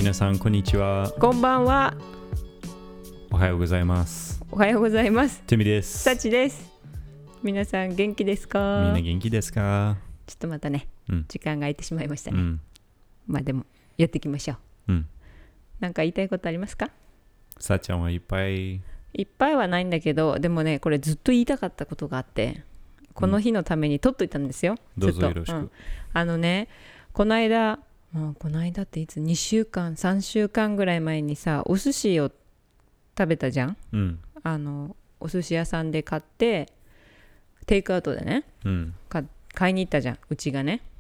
皆さんこんにちは。 こんばんは。 おはようございます。 おはようございます。 ティミです。 サチです。皆さん元気ですか？ みんな元気ですか？ ちょっとまたね、時間が空いてしまいましたね。まあでもやっていきましょう。なんか言いたいことありますか？ さっちゃんはいっぱいはないんだけど、でもねこれずっと言いたかったことがあって、この日のために取っといたんですよ。 どうぞよろしく。 この間っていつ2週間3週間ぐらい前にさ、お寿司を食べたじゃん。お寿司屋さんで買ってテイクアウトでね、買いに行ったじゃん、うちがね。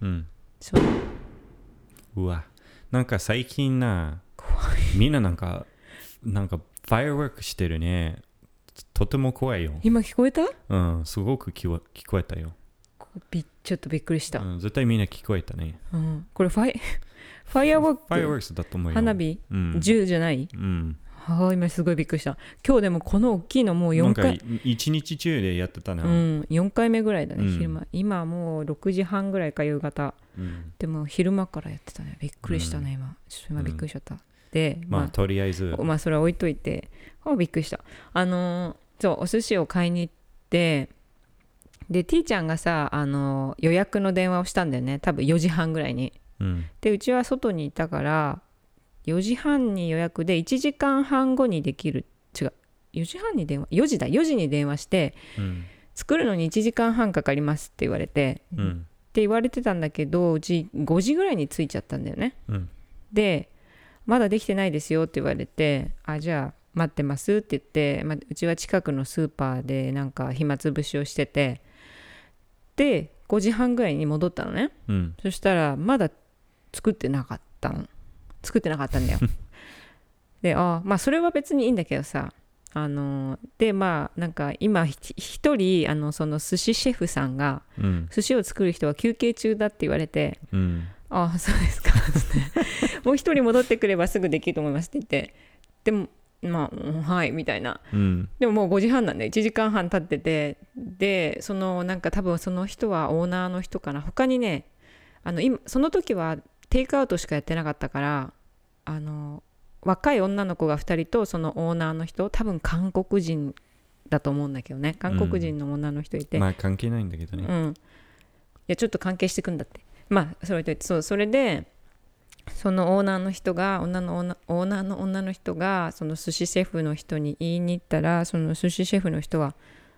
うわ、なんか最近みんななんかファイアワークしてるね。とても怖いよ。 今聞こえた？ すごく聞こえたよ。 ちょっとびっくりした。 絶対みんな聞こえたね。 これファイアワーク。 ファイアワークスだと思うよ。 花火、銃じゃない？今すごいびっくりした。今日でもこの大きいのもう4回。 なんか1日中でやってたな。 4回目ぐらいだね、昼間。今もう6時半ぐらいか夕方。でも昼間からやってたね。びっくりしたね、今。ちょっと今びっくりしちゃった。で、 とりあえず。 それは置いといて。びっくりした。そう、お寿司を買いに行って、で、T ちゃんがさ、予約の電話をしたんだよね。多分4時半ぐらいに。で、うちは外にいたから、4時半に予約で1時間半後にできる。違う。4時半に電話。4時に電話して、作るのに1時間半かかりますって言われて、って言われてたんだけど、うち5時ぐらいに着いちゃったんだよね。で、まだできてないですよって言われて、じゃあ待ってますって言って、うちは近くのスーパーでなんか暇つぶしをしてて、で5時半ぐらいに戻ったのね。そしたらまだ作ってなかったんだよ。でそれは別にいいんだけどさ、でなんか今一人その寿司シェフさんが、寿司を作る人は休憩中だって言われて、そうですかってもう一人戻ってくればすぐできると思いますって言って、でもはいみたいな、でももう5時半なんで1時間半経ってて、でなんか多分その人はオーナーの人かな。他にね今その時はテイクアウトしかやってなかったから、若い女の子が2人とそのオーナーの人、多分韓国人だと思うんだけどね、韓国人の女の人いて、 関係ないんだけどね。 いやちょっと関係してくんだって。それでそれでそのオーナーの人がオーナーの女の人がその寿司シェフの人に言いに行ったら、その寿司シェフの人は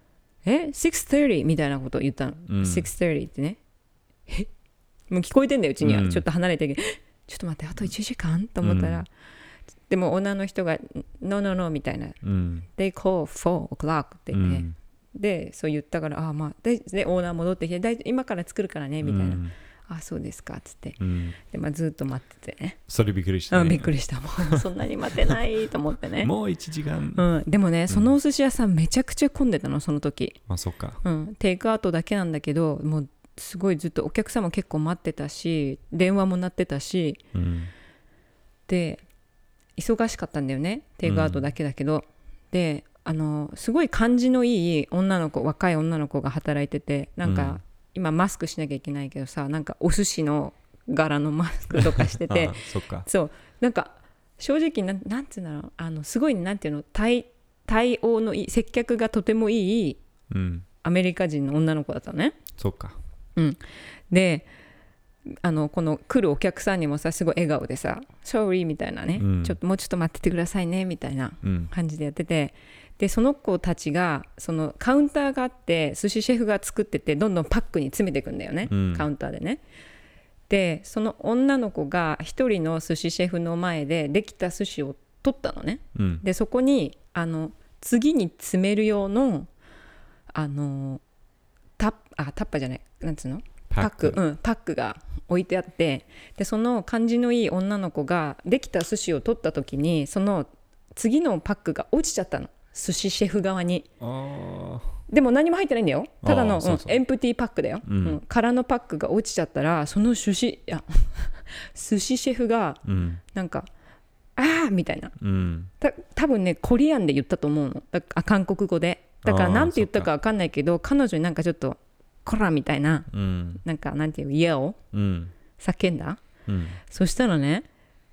6:30みたいなことを言ったの。6:30ってね、もう聞こえてんだようちには。ちょっと離れてちょっと待って、あと1時間と思ったら、でもオーナーの人が No みたいな、They call 4 o'clock って言って、でそう言ったから、でオーナー戻ってきて、今から作るからねみたいな、そうですかっつって、でずっと待っててね。 それびっくりしたね。 びっくりした。もうそんなに待てないと思ってね。 もう1時間。 でもね、そのお寿司屋さんめちゃくちゃ混んでたの、その時。 そっか。 テイクアウトだけなんだけど、もうすごいずっとお客さんも結構待ってたし、電話も鳴ってたし、で忙しかったんだよね、テイクアウトだけだけど。ですごい感じのいい若い女の子が働いてて、なんか、今マスクしなきゃいけないけどさ、なんかお寿司の柄のマスクとかしててそっか。 そう、なんか正直なんていうんだろう、すごいなんていうの、対応のいい、接客がとてもいい、アメリカ人の女の子だったのね。 そっか。 でこの来るお客さんにもさ、すごい笑顔でさ Sorry みたいなね、もうちょっと待っててくださいねみたいな感じでやってて、でその子たちがそのカウンターがあって、寿司シェフが作っててどんどんパックに詰めていくんだよね、カウンターでね。でその女の子が一人の寿司シェフの前でできた寿司を取ったのね。でそこに次に詰める用のタッパーじゃない、なんつうの、パックが置いてあって、でその感じのいい女の子ができた寿司を取った時に、その次のパックが落ちちゃったの、寿司シェフ側に。でも何も入ってないんだよ、ただのエンプティーパックだよ、空のパックが落ちちゃったら、その寿司シェフがなんか、みたいな、多分ねコリアンで言ったと思うの、韓国語で。だからなんて言ったか分かんないけど、彼女になんかちょっとコラみたいな、なんかなんていう、イエを叫んだ。そしたらね、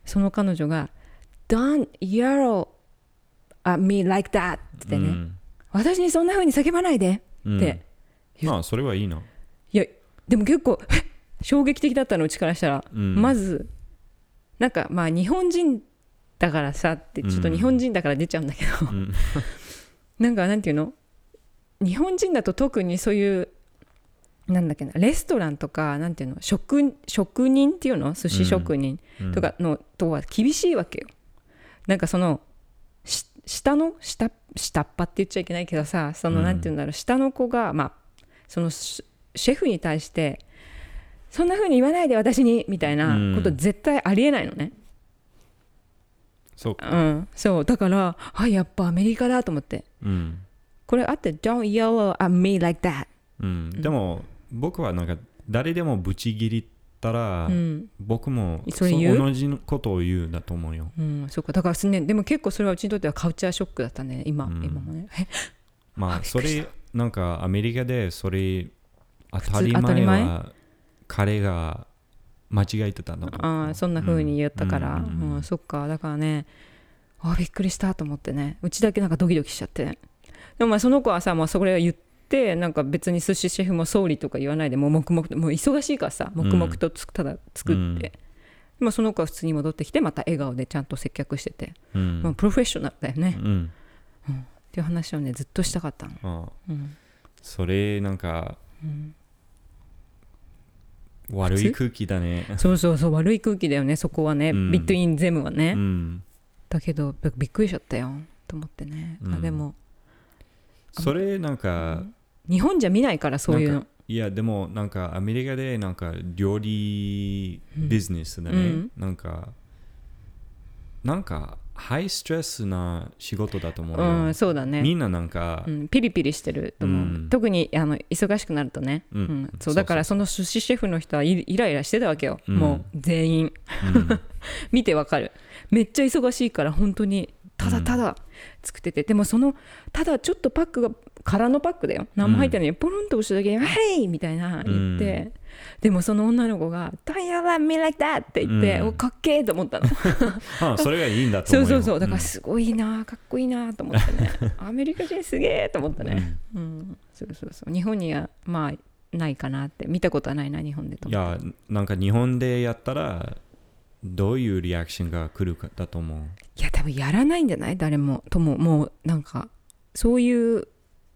その彼女が Don't yell at me like that ってね、私にそんな風に叫ばないでってまあそれはいいな。 いやでも結構衝撃的だったの、うちからしたら、まずなんかまあ日本人だからさってちょっと日本人だから出ちゃうんだけど、なんていうの、日本人だと特にそういうなんだっけな、レストランとかなんていうの、職人っていうの、寿司職人とかのとは厳しいわけよ。なんかその下っ端って言っちゃいけないけどさ、そのなんていうんだろう、下の子がまあそのシェフに対してそんな風に言わないで私にみたいなこと絶対ありえないのね。 そうか、 そうだからやっぱアメリカだと思って、これあって Don't yell at me like that、 でも僕はなんか誰でもブチギリったら、僕も同じことを言うだと思うよ。 そうか、だからね、でも結構それはうちにとってはカルチャーショックだったね、今もね。 まあそれなんかアメリカでそれ当たり前は彼が間違えてたの。 そんな風に言ったから、そっか、だからね、びっくりしたと思ってね、うちだけなんかドキドキしちゃって。でもまあその子はさ、もうそれを言って、なんか別に寿司シェフも総理とか言わないで、もう黙々と、もう忙しいからさ、黙々とただ作って、まあその子は普通に戻ってきて、また笑顔でちゃんと接客してて、まあ、プロフェッショナルだよね、っていう話をねずっとしたかったの。 それなんか、悪い空気だね。 そう悪い空気だよね、そこはね、ビットインゼムはね、だけどびっくりしちゃったよと思ってね、でもそれなんか、 日本じゃ見ないからそういうの。 いやでもなんかアメリカでなんか料理ビジネスだね、なんかハイストレスな仕事だと思うよ。そうだね。みんななんか、 ピリピリしてると思う。特に忙しくなるとね。そうだからその寿司シェフの人はイライラしてたわけよ。もう全員。見てわかる。めっちゃ忙しいから本当にただただ作ってて、でもそのただちょっとパックが空のパックだよ。何も入ってないのにポロンと押しただけに「はい!」みたいな言って、でもその女の子が「Don't yell at me like that!」って言って、かっけーと思ったの。 それがいいんだと思うよ。 そうだからすごいな、かっこいいなと思ってね。アメリカ人すげーと思ったね。そう日本にはまあないかなって、見たことはないな日本でと思って。 いやなんか日本でやったらどういうリアクションが来るかだと思う。 いや多分やらないんじゃない、誰もとも。もうなんかそういう、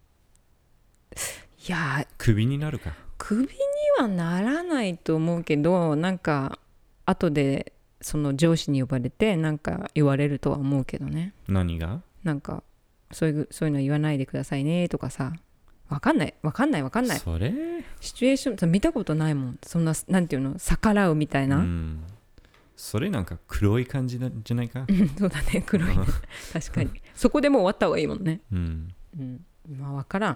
いやクビになるか。 クビにはならないと思うけど、なんか後でその上司に呼ばれてなんか言われるとは思うけどね。 何が？ なんかそういうの言わないでくださいねとかさ。わかんない。 それシチュエーション見たことないもん。そんななんていうの、逆らうみたいな。 それなんか黒い感じなんじゃないか。 そうだね、黒い。確かに。そこでもう終わった方がいいもんね。まあわから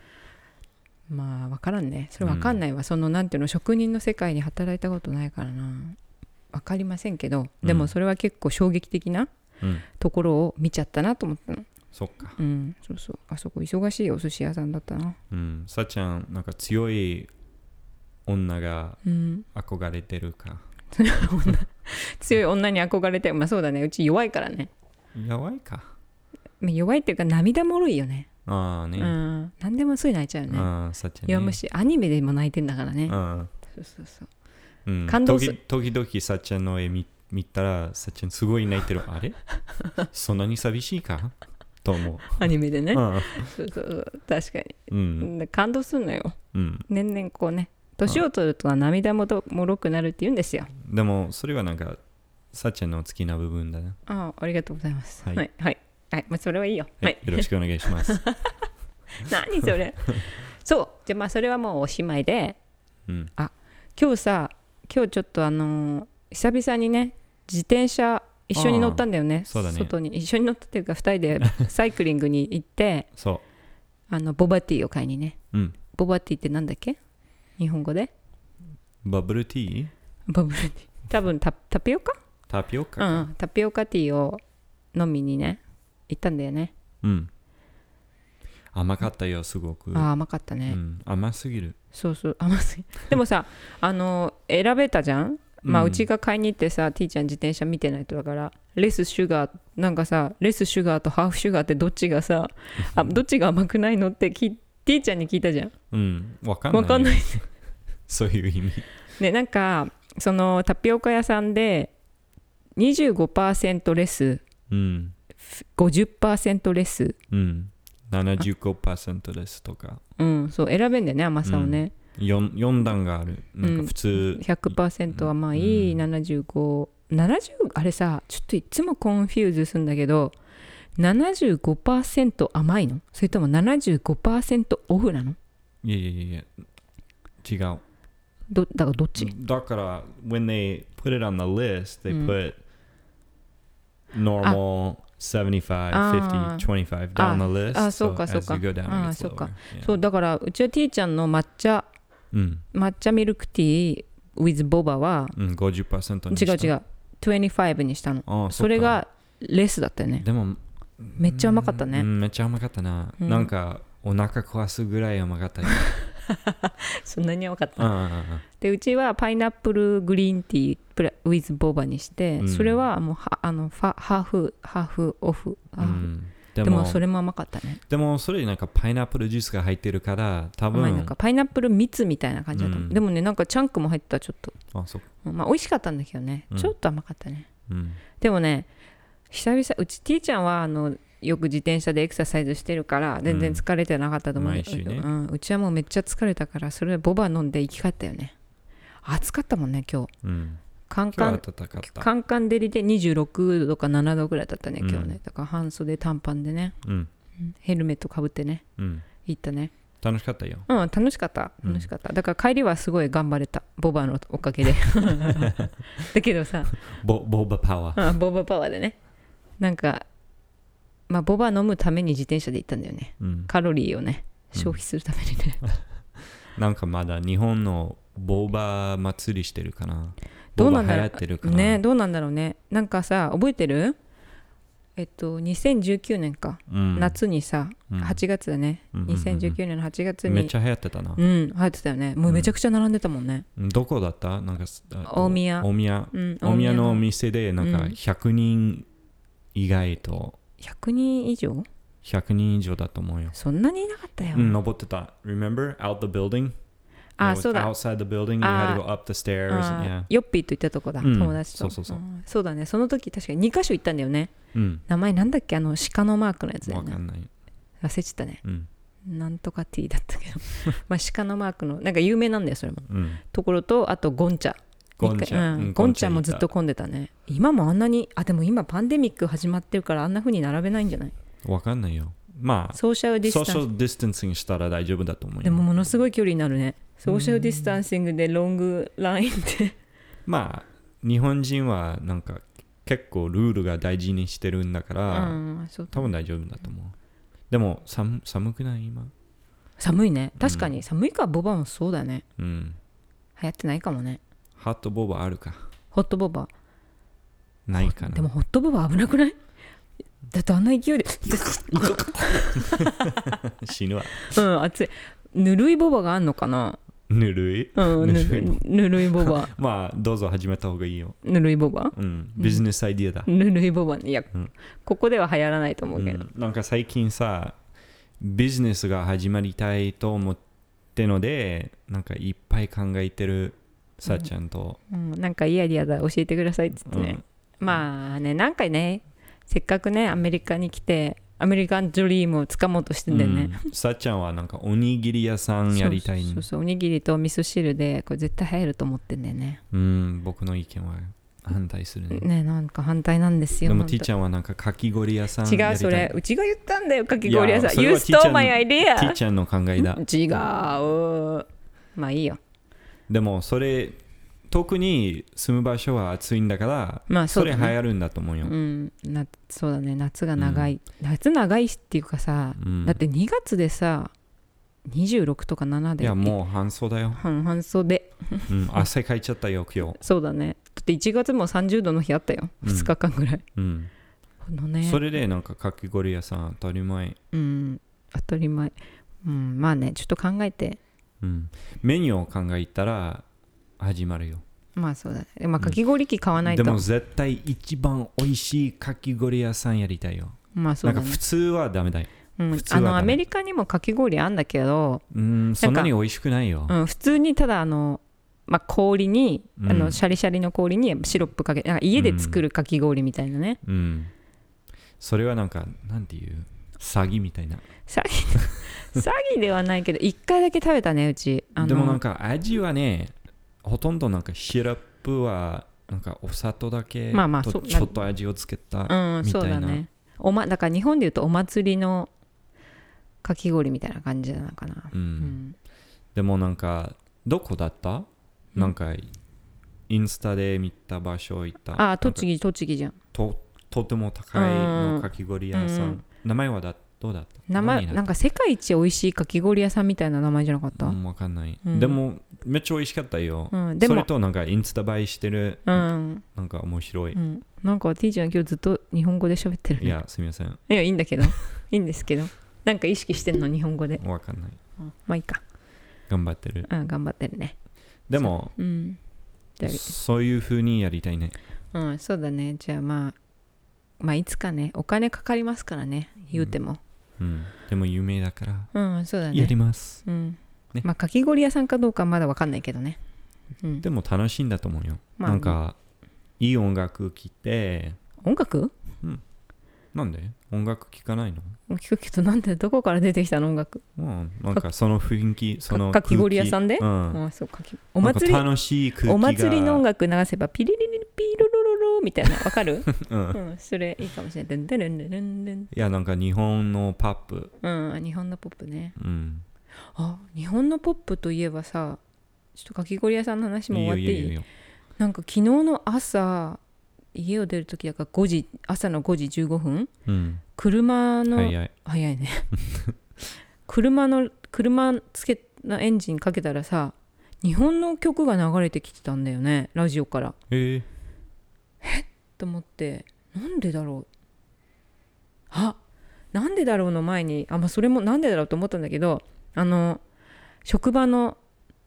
んね。それわかんないわ。そのなんていうの、職人の世界に働いたことないからな。わかりませんけど、でもそれは結構衝撃的なところを見ちゃったなと思ったの。 そっか。 そう。あそこ忙しいお寿司屋さんだったな。 さっちゃんなんか強い女が憧れてるか。 強い女に憧れて、まあそうだね、うち弱いからね。 弱いか。 弱いっていうか涙もろいよね。 何でもすぐ泣いちゃうよね。弱虫、アニメでも泣いてんだからね。そう感動する。時々さっちゃんの絵見たらさっちゃんすごい泣いてる。あれそんなに寂しいかと思う。 アニメでね。そう確かに。感動するのよ。年々こうね、年を取ると涙もろくなるって言うんですよ。 でもそれはなんかさっちゃんの好きな部分だな。 ありがとうございます。はい、まあ、それはいいよ。 よろしくお願いします。 何それ。そう、じゃあまあそれはもうおしまいで、今日ちょっと久々にね、自転車一緒に乗ったんだよね。 そうだね。 外に一緒に乗ったっていうか2人でサイクリングに行ってボバティーを買いにね。ボバティーってなんだっけ、日本語で。 バブルティー？ バブルティー、多分タピオカ？ タピオカ？ タピオカティーを飲みにね行ったんだよね。 甘かったよ、すごく。 甘かったね。 甘すぎる。 そう甘すぎる。でもさ選べたじゃん。 まあうちが買いに行ってさ、T ちゃん自転車見てないとだからレスシュガーなんかさ、レスシュガーとハーフシュガーってどっちがさどっちが甘くないのって T ちゃんに聞いたじゃん。 わかんないそういう意味ね。なんかそのタピオカ屋さんで 25% レス、50% レス、 75% レスとか、 そう選べんだよね、甘さをね。 4段がある。なんか普通、 100% 甘い、75、あれさ、ちょっといつもコンフューズするんだけど、75% 甘いの？それとも 75% オフなの？ いや違う。 だからどっち？ だから、when they put it on the list, they put normal, 75, 50, 25 down the list. そうかそうか。 as you go down, it gets そうか。 lower. そうだからうちは T ちゃんの抹茶ミルクティー with ボバは、 50% にした。 違う25にしたの。それがレスだったよね。 でもめっちゃ甘かったね。 めっちゃ甘かったな。なんかお腹壊すぐらい甘かったよ。 そんなに甘かった。でうちはパイナップルグリーンティーwith ボバにして、それはもうハーフオフ。でもそれも甘かったね。 でもそれなんかパイナップルジュースが入ってるから多分なんかパイナップル蜜みたいな感じだと思う。でもね、なんかチャンクも入ったちょっと。まあ美味しかったんだけどね、ちょっと甘かったね。でもね、久々うち T ちゃんはよく自転車でエクササイズしてるから全然疲れてなかったと思う。 毎週ね。 うちはもうめっちゃ疲れたから、それでボバ飲んで生き返ったよね。暑かったもんね今日。カンカン照りで26度か7度ぐらいだったね今日ね。だから半袖短パンでね、ヘルメットかぶってね、行ったね。 楽しかったよ。 楽しかっただから帰りはすごい頑張れた、ボバのおかげでだけどさボバパワーボバパワーでね、なんかまあボバ飲むために自転車で行ったんだよね。カロリーをね消費するためにね。 なんかまだ日本のボバ祭りしてるかな。どうなんだろうね。どうなんだろうね。なんかさ、覚えてる？2019年か、夏にさ、8月だね、2019年の8月にめっちゃ流行ってたな。 流行ってたよね。もうめちゃくちゃ並んでたもんね。 どこだった？なんか大宮の店でなんか100人以外と 100人以上だと思うよ。 そんなにいなかったよ。 登ってた。 Remember? Out the building? そうだ。 Outside the building, you had to go up the stairs. ヨッピーと行ったとこだ、友達と。そうだね。その時確かに2カ所行ったんだよね。名前なんだっけ、鹿のマークのやつだよね。 わかんない。 忘れちゃったね。なんとか T だったけどまあ鹿のマークのなんか有名なんだよそれも、ところと、あとゴンチャもずっと混んでたね。今もあんなに、でも今パンデミック始まってるからあんな風に並べないんじゃない？ わかんないよ。まあソーシャルディスタンシングしたら大丈夫だと思うよ。 でもものすごい距離になるね。ソーシャルディスタンシングでロングラインってまあ日本人はなんか結構ルールが大事にしてるんだから、多分大丈夫だと思う。でも寒くない今？寒いね。確かに寒いからボバもそうだね。流行ってないかもね。 ホットボバあるか？ ホットボバないかな。 でもホットボバ危なくない？だってあんな勢いで死ぬわ。 熱い。ぬるいボバがあんのかな？ ぬるいボバまあどうぞ始めた方がいいよ。 ぬるいボバ、 ビジネスアイディアだ。 ぬるいボバ、いや、ここでは流行らないと思うけど、 なんか最近さビジネスが始まりたいと思ってので、なんかいっぱい考えてるさっちゃんと、 なんかいいアイディアだ教えてくださいって言ってね、まあね、なんかね、せっかくねアメリカに来てアメリカンドリームをつかもうとしてんだよね。 さっちゃんはなんかおにぎり屋さんやりたい。 そうおにぎりと味噌汁でこれ絶対流行ると思ってんだよね。 僕の意見は反対するね。 ね、なんか反対なんですよ。 でもティーちゃんはなんかかき氷屋さんやりたい。 違う、それうちが言ったんだよ、かき氷屋さん。You stole my idea。 ティーちゃんの考えだ。 違う、まあいいよ。 でもそれ特に住む場所は暑いんだから、まあ それ流行るんだと思うよ。 そうだね、夏が長い、夏長いっていうかさ、だって2月でさ26とか7で、 いやもう半袖だよ。 半袖、 汗かいちゃったよ今日。 そうだね。だって1月も30度の日あったよ、2日間ぐらい、 それでなんかかき氷屋さん当たり前。 当たり前。まあね、ちょっと考えて、 メニューを考えたら始まるよ。 まあそうだね。まあかき氷機買わないと、 でも絶対一番美味しいかき氷屋さんやりたいよ。 まあそうだね。 なんか普通はダメだよ。 普通はダメ。アメリカにもかき氷あんだけど、 そんなに美味しくないよ。 普通にただまあ、氷に、シャリシャリの氷にシロップかけて、なんか家で作るかき氷みたいなね。 それはなんかなんていう詐欺みたいな。 詐欺ではないけど1回だけ食べたねうち。 でもなんか味はね、ほとんどなんかシロップはなんかお砂糖だけとちょっと味をつけたみたいな。 そうだね。だから日本でいうとお祭りのかき氷みたいな感じなのかな。 でもなんかどこだった？なんかインスタで見た場所行った。 栃木じゃん。 とても高いのかき氷屋さん。名前はどうだった？ 名前なんか世界一美味しいかき氷屋さんみたいな名前じゃなかった？ わかんない。でもめっちゃ美味しかったよ。それとなんかインスタ映えしてる。なんか面白い。 なんか T ちゃん今日ずっと日本語で喋ってるね。 いやすみません。 いやいいんだけどいいんですけど、なんか意識してんの日本語で。 わかんない。 まあいいか。 頑張ってる。 頑張ってるね。 でもそういう風にやりたいね。 そうだね。じゃあまあいつかね、お金かかりますからね、言うても。 でも有名だから、 そうだね。 やります。 まあかき氷屋さんかどうかまだわかんないけどね。 でも楽しいんだと思うよ。なんかいい音楽聴いて。 音楽？ なんで音楽聴かないの？ 聞くけど、なんでどこから出てきたの音楽？ なんかその雰囲気、そのかき氷屋さんで？そうお祭り、楽しい空気が、お祭りの音楽流せばピリリリピロロロロみたいな、わかる？それいいかもしれない。いやなんか日本のポップ。 日本のポップね。日本のポップといえばさ、ちょっとかき氷屋さんの話も終わっていい？なんか昨日の朝家を出るときだから朝の5時15分、車の早いね車つけのエンジンかけたらさ、日本の曲が流れてきてたんだよね、ラジオから。と思って、なんでだろう、なんでだろうの前にそれもなんでだろうと思ったんだけど、職場の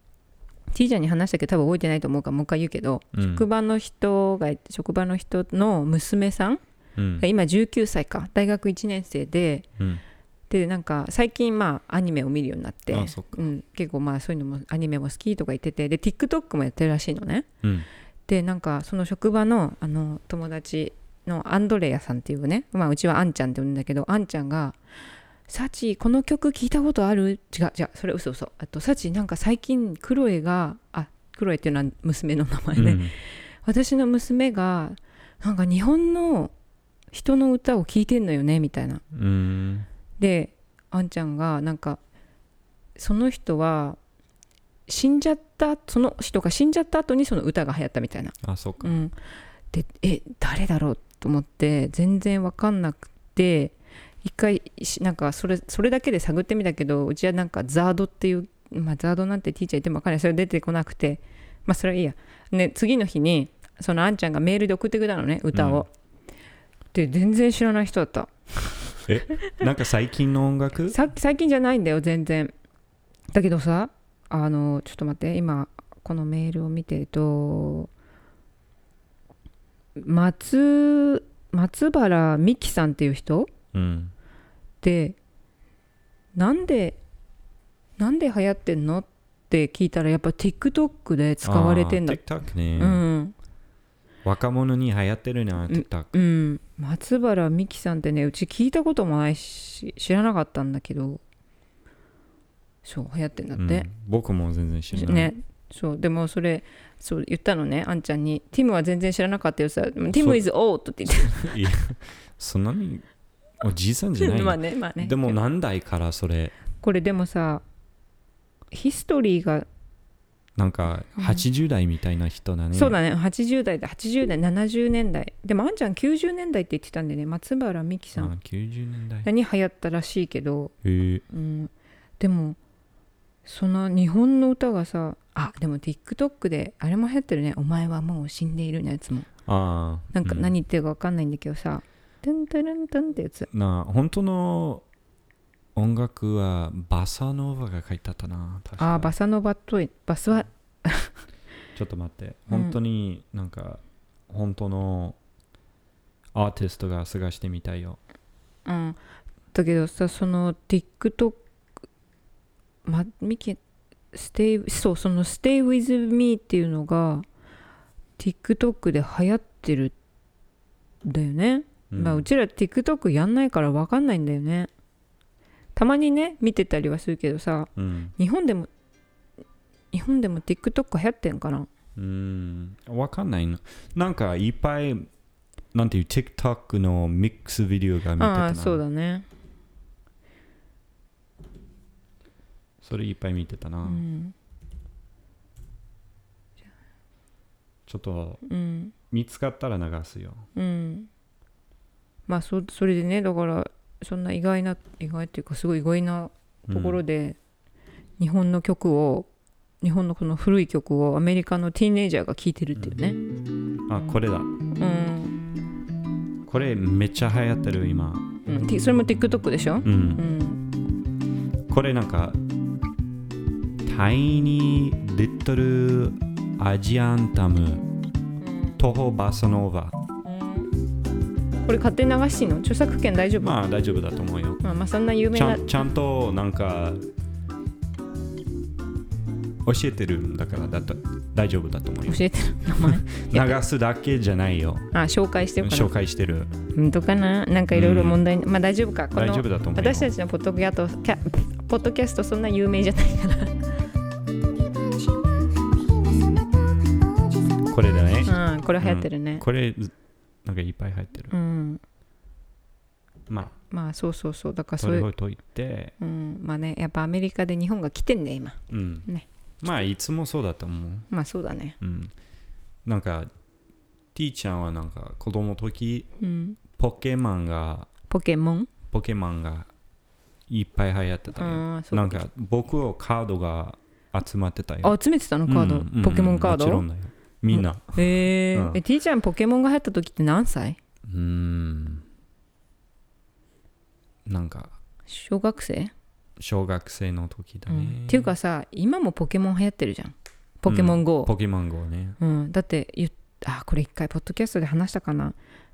T ちゃんに話したけど多分覚えてないと思うからもう一回言うけど、職場の人の娘さんが今19歳か、大学1年生で、でなんか最近アニメを見るようになって、結構そういうのもアニメも好きとか言ってて、で TikTok もやってるらしいのね。でなんかその職場の友達のアンドレアさんっていうね、うちはアンちゃんって呼ぶんだけど、アンちゃんがサチこの曲聞いたことある？違うそれ嘘。サチなんか最近クロエっていうのは娘の名前で、私の娘がなんか日本の人の歌を聴いてんのよねみたいな。であんちゃんがなんかその人が死んじゃった後にその歌が流行ったみたいな。 そうか。 で誰だろうと思って全然分かんなくて、一回なんかそれだけで探ってみたけど、うちはなんかザードっていう、ザードなんてティーチャー言っても分かんない、それ出てこなくて、それはいいやね。次の日にそのあんちゃんがメールで送ってくれたのね、歌を。で全然知らない人だった。 なんか最近の音楽？ 最近じゃないんだよ全然。だけどさ、ちょっと待って、今このメールを見てると、松原美樹さんっていう人、でなんで流行ってんのって聞いたら、やっぱ TikTok で使われてんだ。 TikTok ね、若者に流行ってるな TikTok。 松原美樹さんってね、うち聞いたこともないし知らなかったんだけど、そう流行ってんだって。 僕も全然知らないね。そうでもそう言ったのね、あんちゃんに。ティムは全然知らなかったよさ。ティム is old って言って。 いやそんなにおじいさんじゃないの。 まあね。 でも何代からそれ。 これでもさ、ヒストリーがなんか80代みたいな人だね。 そうだね、80代70年代でもあんちゃん90年代って言ってたんでね、松原美樹さん 90年代に流行ったらしいけど、でもその日本の歌がさ、でも TikTok であれも流行ってるね、お前はもう死んでいるのやつも。なんか何言ってるか分かんないんだけどさ、トゥントゥルントゥンってやつ。 本当の音楽はバサノーバが書いてあったな。 バサノバとバスはちょっと待って。本当になんか、本当のアーティストが探してみたいよ。 うん。だけどさ、その TikTok、ミキ、そう、その Stay with me っていうのが TikTok で流行ってるんだよね。まあうちら TikTok やんないから分かんないんだよね。たまにね見てたりはするけどさ、日本でも TikTok 流行ってんかな。 分かんないの。なんかいっぱいなんていう TikTok のミックスビデオが見てたな。 ああそうだね。 それいっぱい見てたな。ちょっと、見つかったら流すよ。 まあそれでね、だからそんな意外っていうかすごい意外なところで、日本のこの古い曲をアメリカのティーンエイジャーが聴いてるっていうね。 あ、これだ。これめっちゃ流行ってる今。 それも TikTok でしょ。 これなんかタイニーリトルアジアンタムトホバサノーバ。 これ勝手に流していいの？著作権大丈夫？ まあ大丈夫だと思うよ。 まあそんな有名なちゃんとなんか教えてるんだから大丈夫だと思うよ。 教えてる名前流すだけじゃないよ。 紹介してるかな。 紹介してる。 本当かな。なんかいろいろ問題、まあ大丈夫か。 大丈夫だと思うよ。 私たちのポッドキャストそんな有名じゃないからこれだね。 これ流行ってるね。 これなんかいっぱい入ってる。まあそうだからそれをといて、 まあね、やっぱアメリカで日本が来てんね今。ね。 まあいつもそうだと思う。 まあそうだね。 なんかTちゃんはなんか子供の時、ポケモンがいっぱい流行ってたよ。なんか僕はカードが集まってたよ。 集めてたのカード、ポケモンカード。 もちろんだよ。みんな。 T ちゃんポケモンが流行った時って何歳？ なんか小学生の時だね。 っていうかさ、今もポケモン流行ってるじゃん。ポケモン GO。 ポケモン GO ね。 だってこれ一回ポッドキャストで話したかな。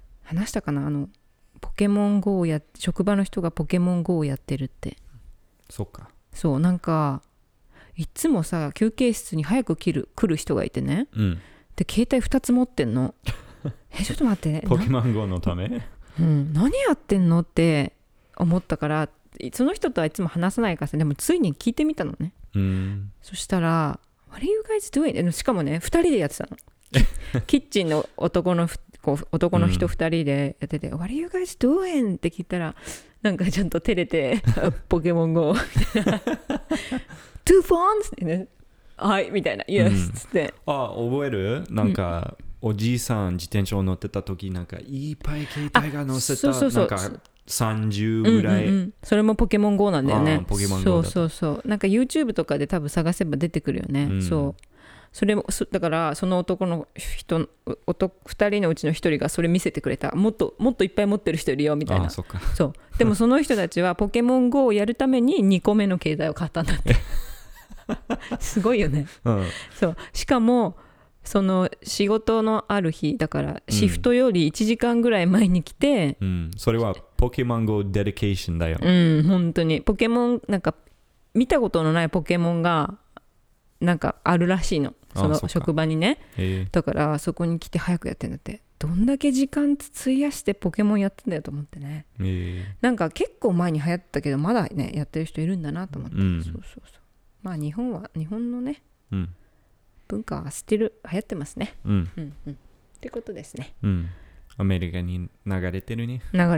ポケモン GO を職場の人がポケモン GO をやってるって。 そっか。 そう、なんかいつもさ休憩室に早く来る人がいてね、で携帯2つ持ってんの。ちょっと待ってポケモン GO のため何やってんのって思ったから、その人とはいつも話さないからさ、でもついに聞いてみたのね。そしたら What are you guys doing? しかもね2人でやってたの。キッチンの男の人2人でやってて、What are you guys doing? って聞いたらなんかちゃんと照れてポケモン GO みたいなTwo phones? ってね、はいみたいな Yes っつって、 覚える？なんかおじいさん自転車を乗ってた時、なんかいっぱい携帯が乗せた、なんか30ぐらい、 それもポケモン GO なんだよね。 ポケモン GO だ。 そうなんか YouTube とかで多分探せば出てくるよね。それもだからその男の人2人のうちの1人がそれ見せてくれた。もっといっぱい持ってる人いるよみたいな。そうでもその人たちはポケモン GO をやるために2個目の携帯を買ったんだってすごいよね。そうしかもその仕事のある日だからシフトより1時間ぐらい前に来て、 それはポケモン GO デデケーションだよ。 本当にポケモンなんか見たことのないポケモンがなんかあるらしいの、その職場にね。だからそこに来て早くやってんだって。どんだけ時間費やしてポケモンやってんだよと思ってね。なんか結構前に流行ったけどまだねやってる人いるんだなと思って。まあ日本のね、文化は流行ってますね。ってことですね。 アメリカに流れてるね。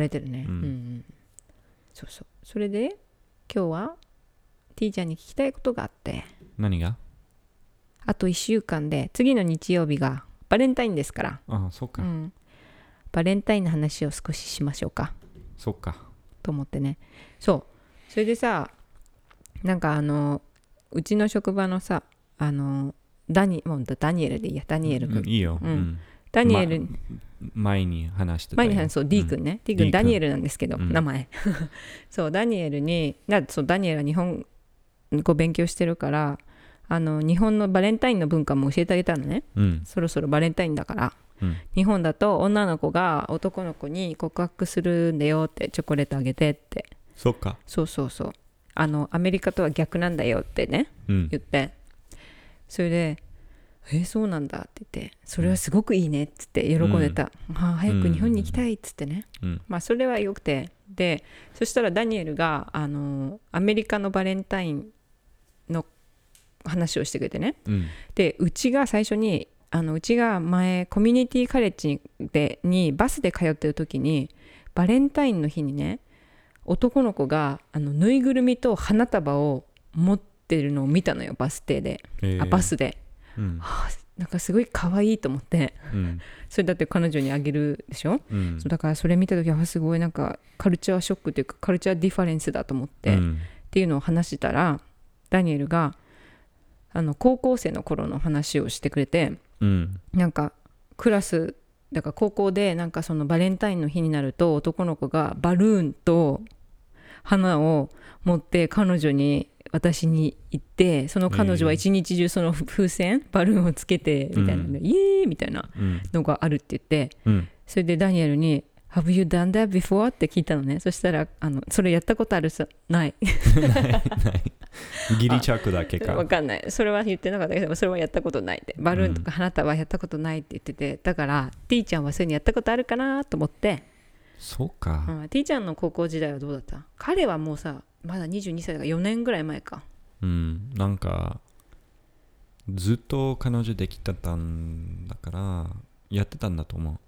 それで今日は T ちゃんに聞きたいことがあって。 何が？ あと1週間で次の日曜日がバレンタインですから。 そうか。 バレンタインの話を少ししましょうか。 そうか。 と思ってね。それでさ、なんかうちの職場のさダニエルでいいや、ダニエル君。 いいよ。 ダニエル、 前に話してたよ。 そう D 君ね。D 君ダニエルなんですけど、名前。そうダニエルにダニエルは日本語勉強してるから日本のバレンタインの文化も教えてあげたのね、そろそろバレンタインだから、日本だと女の子が男の子に告白するんだよって、チョコレートあげてって。 そっか。 そうアメリカとは逆なんだよってね、言って、それでそうなんだって言って、それはすごくいいねっつって喜んでた、早く日本に行きたいっつってね、まあそれはよくて、でそしたらダニエルがアメリカのバレンタインの話をしてくれてね、でうちが最初にうちが前コミュニティカレッジにバスで通ってる時に、バレンタインの日にね、男の子がぬいぐるみと花束を持ってるのを見たのよ、バス停で、バスで、なんかすごい可愛いと思って、それだって彼女にあげるでしょ、そうだからそれ見た時はすごいなんかカルチャーショックというかカルチャーディファレンスだと思って、っていうのを話したら、ダニエルが高校生の頃の話をしてくれて、なんかクラスだから高校でなんかそのバレンタインの日になると男の子がバルーンと花を持って彼女に私に行って、その彼女は一日中その風船バルーンをつけてみたいな、イエーイみたいなのがあるって言って、それでダニエルにHave you done that before? って聞いたのね。そしたらそれやったことあるさないないギリチャックだけか分かんない、それは言ってなかったけど、それはやったことないって、バルーンとか花束はやったことないって言ってて、だからティーちゃんはそういうのやったことあるかなと思って。 そうか、 ティーちゃんの高校時代はどうだった？彼はもうさまだ22歳だから4年ぐらい前か。 なんかずっと彼女できてたんだからやってたんだと思う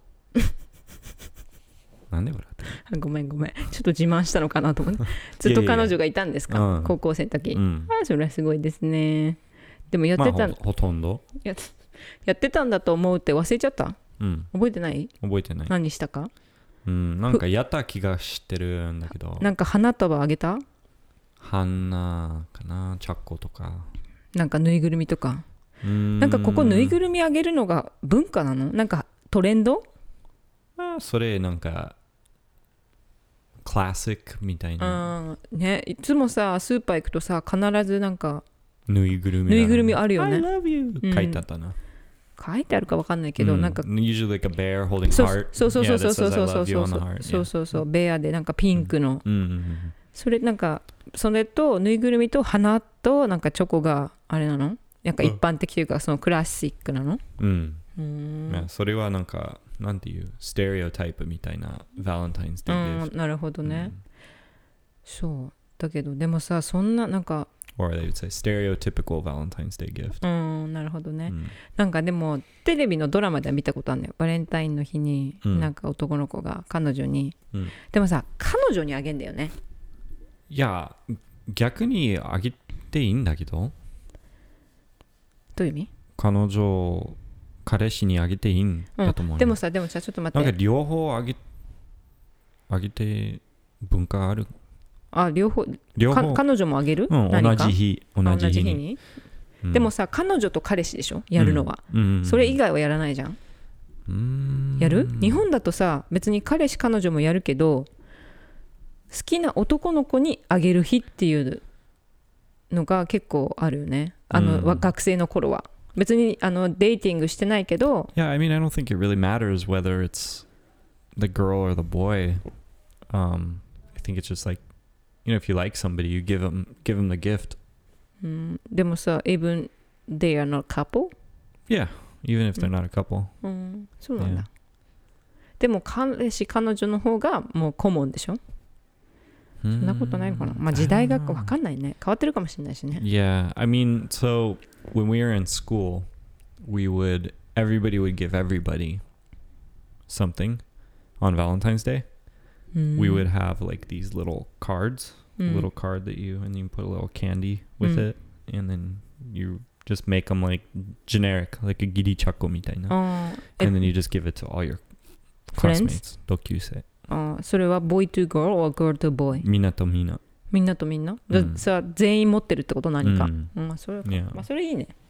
なんで笑ってる？ ごめんちょっと自慢したのかなと思ってずっと彼女がいたんですか？高校生の時、それはすごいですね。でもやってた、 ほとんどやってたんだと思うって忘れちゃった？覚えてない？ 覚えてない。 何したか？ なんかやった気がしてるんだけど、 なんか花束あげた？ 花かな、チャッコとかなんかぬいぐるみとか。なんかここぬいぐるみあげるのが文化なの？なんかトレンド？ それなんかクラシックみたいな、 ね、いつもさスーパー行くとさ必ずなんかぬいぐるみあるよね。 I love you、書いてあったな。 書いてあるか分かんないけど、なんか usually like a bear holding heart。 そうベアでなんかピンクの、それなんかそれとぬいぐるみと花となんかチョコがあれなの？なんか一般的というかそのクラシックなの？ それはなんかなんていうステレオタイプみたいなバレンタインズデーギフト。 なるほどね、そうだけどでもさそんななんか or they would say stereotypical Valentine's Day gift。 なるほどね、なんかでもテレビのドラマでは見たことあるんだよ。バレンタインの日になんか男の子が彼女に、でもさ彼女にあげんだよね。 いや逆にあげていいんだけど。 どういう意味？ 彼氏にあげていいんだと思う、 でもさちょっと待って、 なんか両方あげて文化ある。 両方彼女もあげる、 同じ日に、 でもさ彼女と彼氏でしょやるのは、それ以外はやらないじゃん。やる？日本だとさ別に彼氏彼女もやるけど、好きな男の子にあげる日っていうのが結構あるよね。学生の頃は別にデーティングしてないけど。 Yeah, I mean, I don't think it really matters whether it's the girl or the boy. I think it's just like, you know, if you like somebody, you give them the gift. でもさ、even they are not couple? Yeah, even if they're not a couple. そうなんだ。でも彼氏彼女の方がもうコモンでしょ？そんなことないのかな。まあ時代が分かんないね。変わってるかもしれないしね。 Yeah, I mean, so when we were in school, everybody would give everybody something on Valentine's Day. We would have like these little cards, a little card that and you put a little candy with it, and then you just make them like generic, like a giri chako みたいな. And then you just give it to all your classmates, 同級生。 それは boy to girl or girl to boy？ みんなとみんな。 みんなとみんな？さ、全員持ってるってこと何か？それか。まあそれいいね。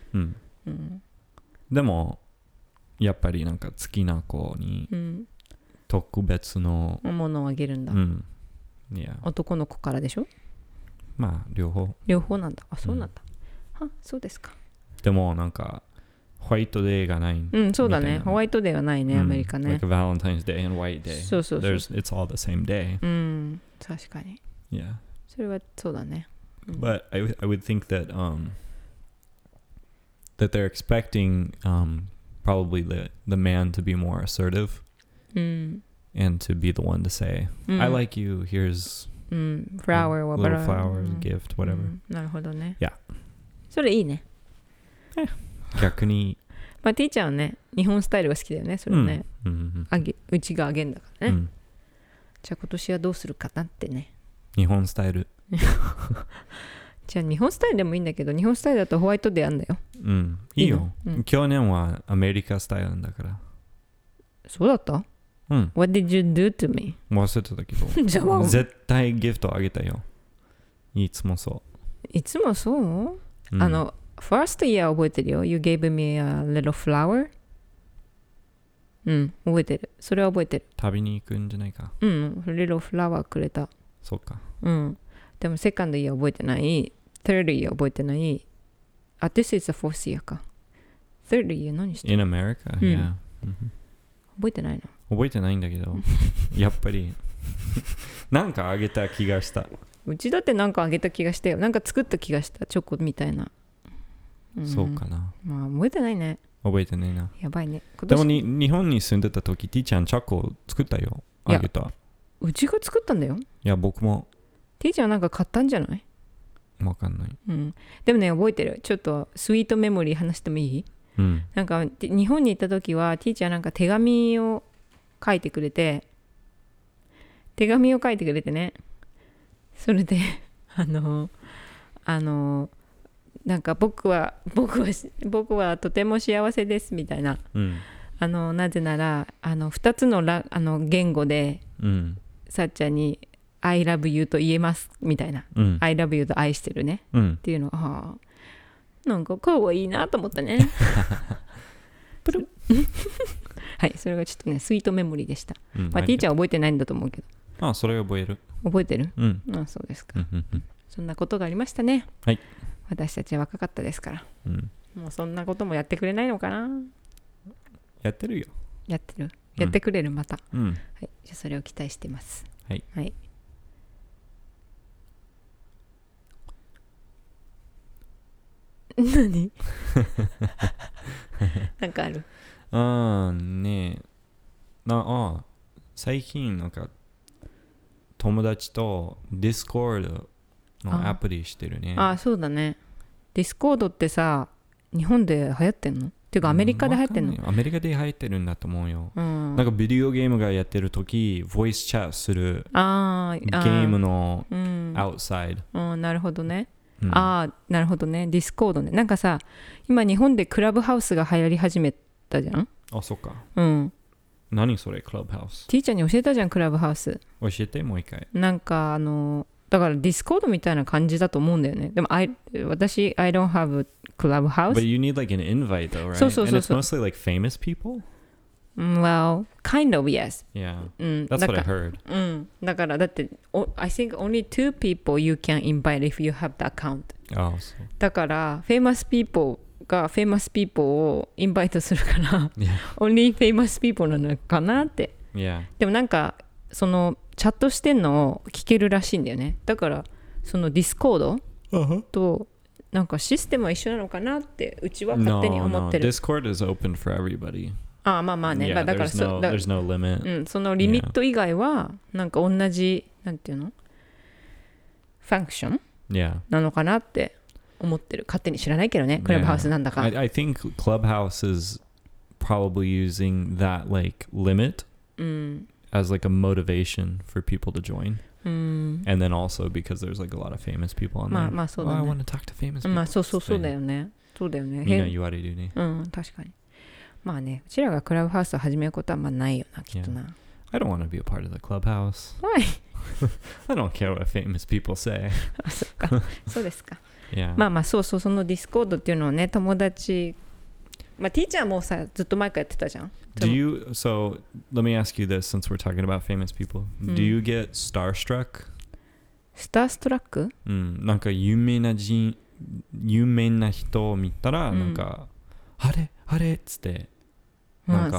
でもやっぱりなんか好きな子に特別のものをあげるんだ。男の子からでしょ？ まあ両方なんだ。そうなんだ。 あ、そうですか。 でもなんかホワイトデーがない。 うん、そうだね。ホワイトデーはないね、アメリカね。 Like a Valentine's Day and White Day. そうそうそう。 It's all the same day. うん、確かに。 Yeah. それはそうだね。 But I would think that that they're expecting probably the man to be more assertive and to be the one to say, I like you, here's flower or little flowers, gift, whatever. なるほどね。 Yeah. それいいね。 逆に。 まあ、ティーちゃんはね、日本スタイルが好きだよね、それね。うちがあげんだからね。じゃあ今年はどうするかなってね。 日本スタイル。 じゃあ日本スタイルでもいいんだけど、日本スタイルだとホワイトデーあんだよ。 うん、いいよ。去年はアメリカスタイルだから。 そうだった？うん。What did you do to me? 忘れてたけど。じゃあ絶対ギフトあげたよ。いつもそう。 いつもそう？first year 覚えてるよ。You gave me a little flower. うん、覚えてる。それは覚えてる。 旅に行くんじゃないか。 うん、little flower くれた。 そうか。 うん。でもセカンドイヤー覚えてない。third year 覚えてない。あ、this is the fourth year か。third year 何してる？ In America, yeah. 覚えてないの？ 覚えてないんだけど、やっぱりなんかあげた気がした。 うちだってなんかあげた気がしたよ。なんか作った気がした。チョコみたいな。 そうかな。 まあ覚えてないね。 覚えてないな。 やばいね。 でも日本に住んでた時、ティーちゃんチョコ作ったよ。あげた。 うちが作ったんだよ。 いや、僕も。 ティーちゃんなんか買ったんじゃない？ わかんない。 うん。でもね、覚えてる。ちょっとスイートメモリー話してもいい？ うん。 なんか日本に行った時はティーちゃんなんか手紙を書いてくれてね。それでなんか僕はとても幸せですみたいな、なぜなら2つの言語で、さっちゃんに I love you と言えますみたいな、I love you と愛してるね、っていうのはなんかかわいいなと思ったね。プルはい、それがちょっとねスイートメモリーでした。まあティーチャー覚えてないんだと思うけど。 あ、それ覚える。 覚えてる？あ、そうですか。そんなことがありましたね。 はい。 私たちは若かったですから。もうそんなこともやってくれないのかな。 やってるよ。 やってる。やってくれるまた。 はい。 じゃあそれを期待してます。 はい。 はい。何？なんかある？ ねえ。最近なんか友達と Discord のアプリしてるね。 あ、そうだね。Discord ってさ、日本で流行ってんの？っていうかアメリカで流行ってんの？ アメリカで流行ってるんだと思うよ。なんかビデオゲームがやってるとき、ボイスチャットするゲームの outside。なるほどね。なるほどね。Discord ね。なんかさ、今日本でクラブハウスが流行り始めたじゃん？ あ、そっか。 何それクラブハウス？ ティーちゃんに教えたじゃん、クラブハウス。 教えて、もう一回。 なんかだからディスコードみたいな感じだと思うんだよね。でも私 I don't have a clubhouse. But you need like an invite though, right? そうそうそう。 And it's mostly like famous people? Well, kind of, yes. Yeah. That's what I heard. だからだって、I think only 2 people you can invite if you have the account. だからfamous people が famous people をインバイトするから、only famous people なのかなって。でもなんかそのチャットしてんのを聞けるらしいんだよね。だからそのディスコードとなんかシステムは一緒なのかなってうちは勝手に思ってる。 Discord is open for everybody. まあね。だから there's no limit. そのリミット以外はなんか同じなんていうのファンクションなのかなって思ってる。勝手に知らないけどね。クラブハウスなんだか。 I think Clubhouse is probably using that like limit as like a motivation for people to join. And then also because there's like a lot of famous people on there. まあそうだね。 I want to talk to famous people. まあそうだよね。そうだよね。 みんな言われるね。 確かに。まあね、うちらがクラブハウスを始めることはまあないよな、きっとな。 I don't want to be a part of the clubhouse. Why? I don't care what famous people say. あ、そっか。そうですか。 Yeah. まあそのディスコードっていうのをね、友達、まあティーチャーもさ、ずっと前からやってたじゃん。 So let me ask you this since we're talking about famous people. Do you get starstruck? スターストラック？ なんか有名な人有名な人を見たら、なんかあれあれっつってなんか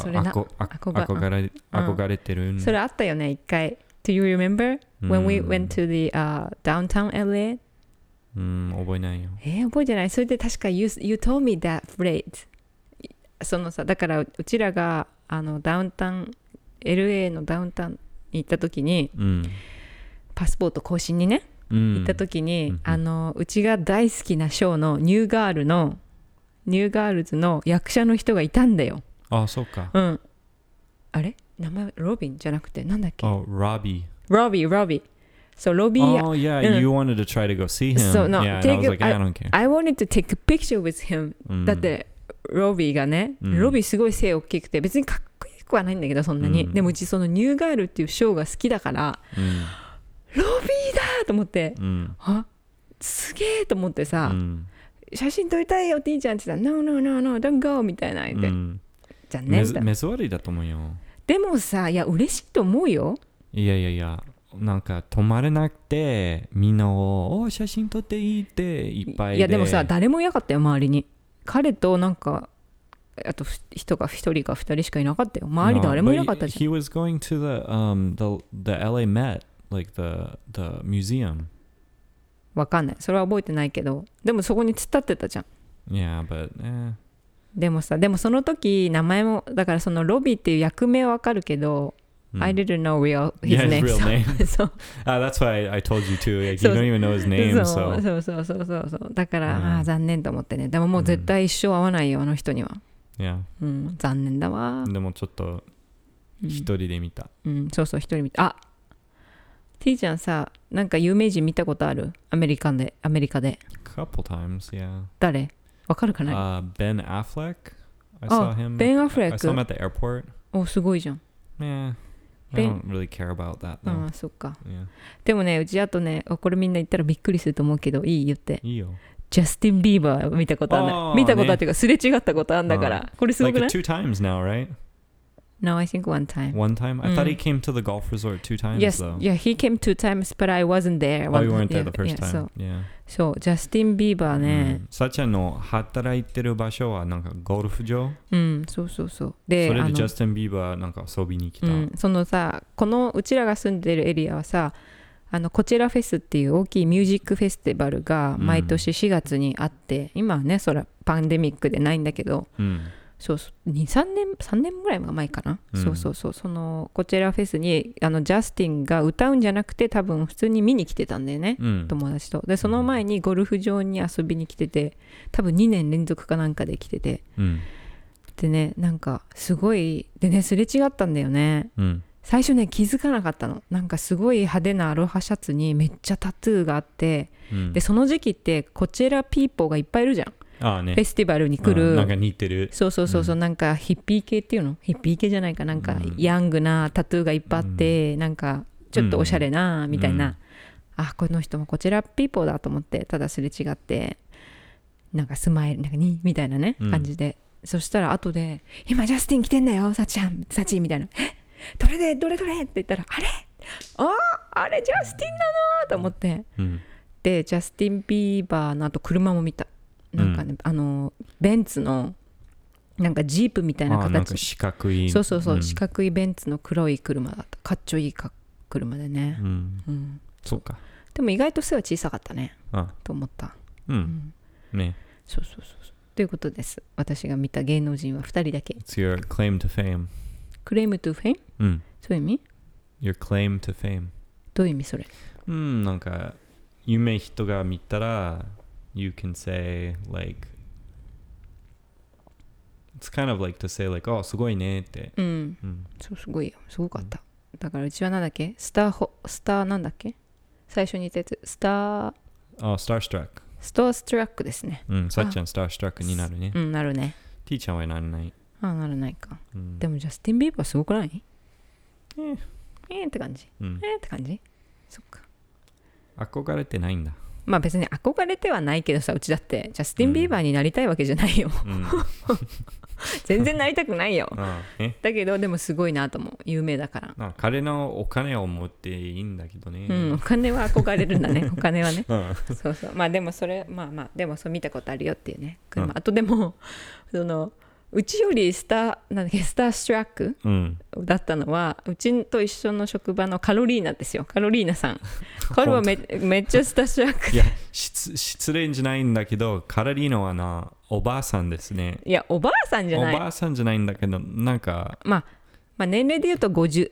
憧れてる。 それあったよね一回。Do you remember when we went to the downtown LA? 覚えないよ。 覚えてない。それで確か you told me that phrase。そのさ、だからうちらがダウンタウン LA のダウンタウンに行った時に、パスポート更新にね、行った時に、うちが大好きなショーのニューガールズの役者の人がいたんだよ。 あ、そうか。 あれ名前ロビンじゃなくてなんだっけ？ ロビー。So Robbie. Oh yeah, you wanted to try to go see him. So no, yeah, and I was like, I don't care. I wanted to take a picture with him. だってロビーがね、ロビーすごい背大きくて別にかっこいい子はないんだけどそんなに、でもうちそのニューガールっていうショーが好きだから、ロビーだと思って、あ、すげえと思ってさ、写真撮りたいよティーちゃんって言ったら No, don't go みたいな言って、残念だ。 目障りだと思うよ。 でもさ、いや嬉しいと思うよ。 いやなんか止まれなくてみんなを写真撮っていいっていっぱいで。 いやでもさ誰もいなかったよ周りに。彼となんかあと人が1人か2人しかいなかったよ。周り誰もいなかったじゃん。 He was going to the LA Met, like the museum. わかんない。それは覚えてないけど、でもそこに突っ立ってたじゃん。 Yeah, but でもその時名前もだからそのロビーっていう役名はわかるけど、I didn't know his name. His real name. そう。 That's why I told you too. Like, you don't even know his name. そう。だから、残念と思ってね。でももう絶対一生会わないよ、あの人には。 Yeah. 残念だわ。 でもちょっと一人で見た。 そう一人見た。あ、T ちゃんさ、なんか有名人見たことある？アメリカで。 Couple times, yeah. 誰？わかるかな ？Ben Affleck. I saw him. Ben Affleck. I saw him at the airport. お、すごいじゃん。 Yeah.I don't really care about that though. そっか。 Yeah. でもね、うちあとね、これみんな言ったらびっくりすると思うけど、いい言って。 いいよ。 ジャスティン・ビーバー見たことあるんだ。見たことあるっていうか、すれ違ったことあるんだから。これすごくない？ Like two times now, right? No, I think one time. One time? I thought he came to the golf resort two times though. Yeah, he came two times, but I wasn't there. Oh, you weren't there the first time. Yeah. そう、ジャスティン・ビーバーね。 さっちゃんの働いてる場所はなんかゴルフ場？ そう。で、 それでジャスティン・ビーバーなんか遊びに来た。 そのさ、このうちらが住んでるエリアはさ、コチェラフェスっていう大きいミュージックフェスティバルが毎年4月にあって、今はね、そらパンデミックでないんだけど、そう3年ぐらい前かな、そうそのコチェラフェスにジャスティンが歌うんじゃなくて多分普通に見に来てたんだよね、友達と。でその前にゴルフ場に遊びに来てて、多分2年連続かなんかで来てて、でね、なんかすごいでね、すれ違ったんだよね、最初ね気づかなかったの。なんかすごい派手なアロハシャツにめっちゃタトゥーがあって、でその時期ってコチェラピーポーがいっぱいいるじゃん。フェスティバルに来る、 なんか似てる。 そう、なんかヒッピー系っていうの、ヒッピー系じゃないかなんか、ヤングなタトゥーがいっぱいあって、なんかちょっとおしゃれなみたいな、あ、この人もこちらピーポーだと思って、ただすれ違ってなんかスマイルなんかにみたいなね感じで、そしたら後で今ジャスティン来てんだよサチみたいな、どれって言ったら、あれジャスティンなのと思って、でジャスティン・ビーバーのあと車も見た。なんかね、ベンツのなんかジープみたいな形、 なんか四角い、 そう、四角いベンツの黒い車だった。かっちょいい車でね、 そうか。 でも意外と背は小さかったねと思った。 ね。 そうということです。私が見た芸能人は2人だけ。 It's your claim to fame. Claim to fame? そういう意味？ Your claim to fame. どういう意味それ？ なんか有名人が見たらYou can say like it's kind of like to say like oh すごいねって。そうすごいよ、すごかった。だからうちはなんだっけ、スターなんだっけ、最初に言ったやつスターストラックですね。さっちゃんスターストラックになるね。 なるね。 ティーちゃんはならない。 ならないか。でもジャスティン・ビーバーすごくない？って感じ。って感じ。そっか。 憧れてないんだ。 まあ別に憧れてはないけどさ、うちだってジャスティン・ビーバーになりたいわけじゃないよ。 全然なりたくないよえだけどでもすごいなと思う有名だから彼のお金を持っていいんだけどね、 お金は憧れるんだねお金はね、 うんそうそうまあでもそれでもそう見たことあるよっていうね車、あとでもうちよりスターストラックだったのはうちと一緒の職場のカロリーナですよ。カロリーナさん彼はめっちゃスターストラックいや失礼じゃないんだけどカロリーナはおばあさんですね。 いやおばあさんじゃないおばあさんじゃないんだけどなんかまあ年齢で言うと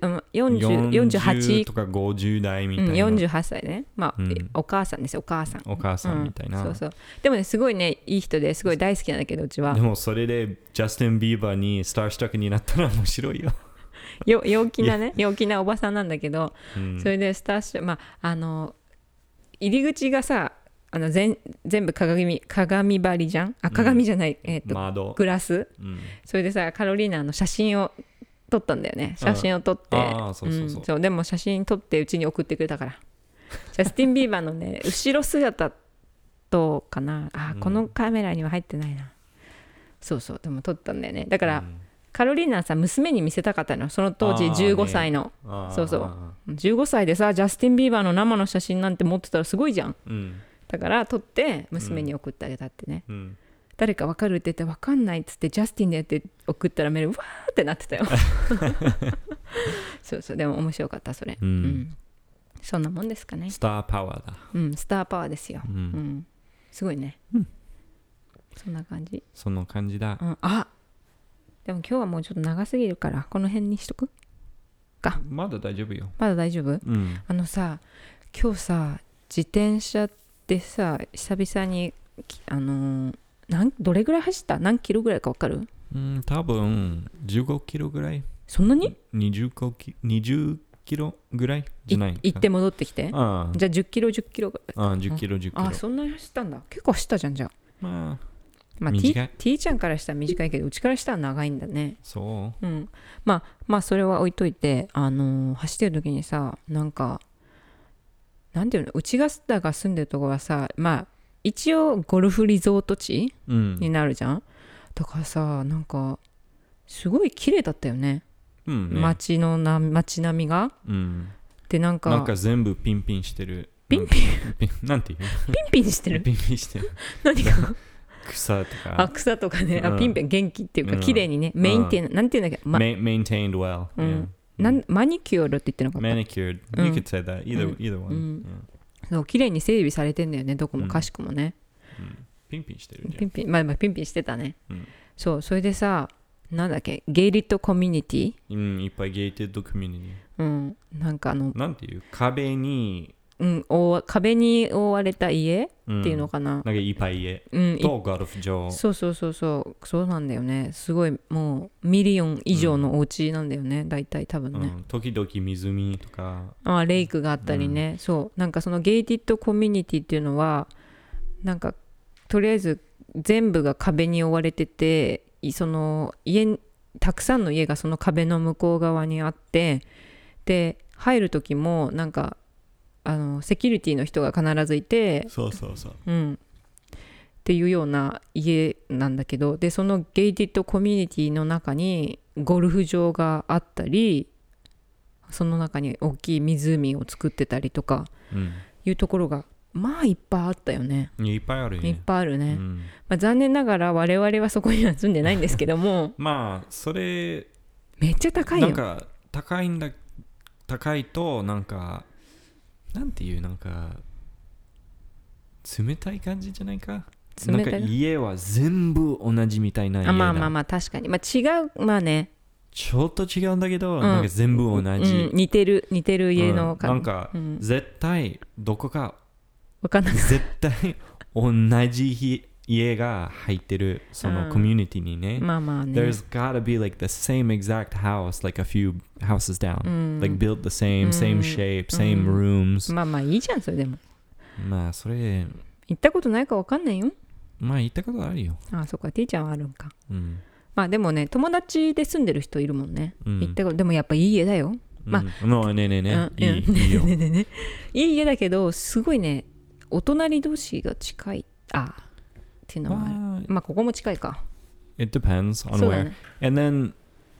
48 とか50代みたいな、 48歳ね、お母さんですよお母さんみたいな、 そうそうでもねすごいねいい人ですごい大好きなんだけどうちはでもそれでジャスティン・ビーバーにスターストラックになったら面白いよ陽気なおばさんなんだけど、それでスターストラック入り口がさ全部鏡張りじゃん鏡じゃない、 窓グラス、それでさカロリーナの写真を撮ったんだよね写真を撮ってそうでも写真撮ってうちに送ってくれたからジャスティン・ビーバーのね後ろ姿とかなこのカメラには入ってないなそうでも撮ったんだよねだから、カロリーナさ娘に見せたかったのその当時15歳の、そう15歳でさジャスティン・ビーバーの生の写真なんて持ってたらすごいじゃん、だから撮って娘に送ってあげたってね、誰か分かるって言って分かんないっつってジャスティンでやって送ったらメールわーってなってたよそうでも面白かったそれ、そんなもんですかね。 スターパワーだ。 スターパワーですよ、すごいね、そんな感じだ、 でも今日はもうちょっと長すぎるからこの辺にしとくか。 まだ大丈夫よ。 まだ大丈夫、さ今日さ自転車でさ久々にどれぐらい走った何キロぐらいか分かる？ 多分15キロぐらい。 そんなに ？20キロぐらいじゃないか。 行って戻ってきて。じゃあ10キロぐらい。 10キロ10キロ。 そんなに走ったんだ。結構走ったじゃんじゃあ。 短い。 T ちゃんからしたら短いけどうちからしたら長いんだね。 そう。 まあそれは置いといて走ってる時にさなんていうのうちが住んでるところはさ一応ゴルフリゾート地、になるじゃん。だからさなんかすごい綺麗だったよね、街並みが、でなんか全部ピンピンしてる。なんていうピンしてる何が草とか草とかね、ピンピン元気っていうか綺麗にね、メインテインなんていうんだっけ、 maintained well、 マニキュアルって言ってなかった？ Manicured、you could say that either one、 そう綺麗に整備されてんだよねどこもかしくもね、 ピンピンしてるじゃん。 ピンピンしてたね、それでさなんだっけゲイリットコミュニティ、 いっぱいゲイテッドコミュニティ、 なんかなんていう壁に壁に覆われた家っていうのかな、 なんかいっぱい家、とゴルフ場、 そうなんだよね。すごいもうミリオン以上のお家なんだよね、大体多分ね、 時々湖とかレイクがあったりね、そうなんかそのゲイティッドコミュニティっていうのはなんかとりあえず全部が壁に覆われててそのたくさんの家がその壁の向こう側にあって、で入る時もなんかセキュリティの人が必ずいて、っていうような家なんだけど、でそのゲイティッドコミュニティの中にゴルフ場があったり、その中に大きい湖を作ってたりとかいうところがいっぱいあったよね。 いっぱいあるよね。 いっぱいあるね、残念ながら我々はそこには住んでないんですけどもそれめっちゃ高いよ。 なんか高いとなんかなんていうなんか冷たい感じじゃないか。なんか家は全部同じみたいな家だ。 確かに違うねちょっと違うんだけど、なんか全部同じ、 似てる家のなんか、絶対どこかわかんない絶対同じ家が入ってるそのコミュニティにね。There's gotta be like the same exact house, like a few houses down, like built the same shape, same rooms. いいじゃんそれでも。 それ行ったことないかわかんないよ。 行ったことあるよ。 そっか、T ちゃんはあるんか。でもね友達で住んでる人いるもんね。行ったことでもやっぱいい家だよ。 ねいいよ。 いい家だけどすごいねお隣同士が近いっていうのはある。ここも近いか。 It depends on そうだ where. ね And then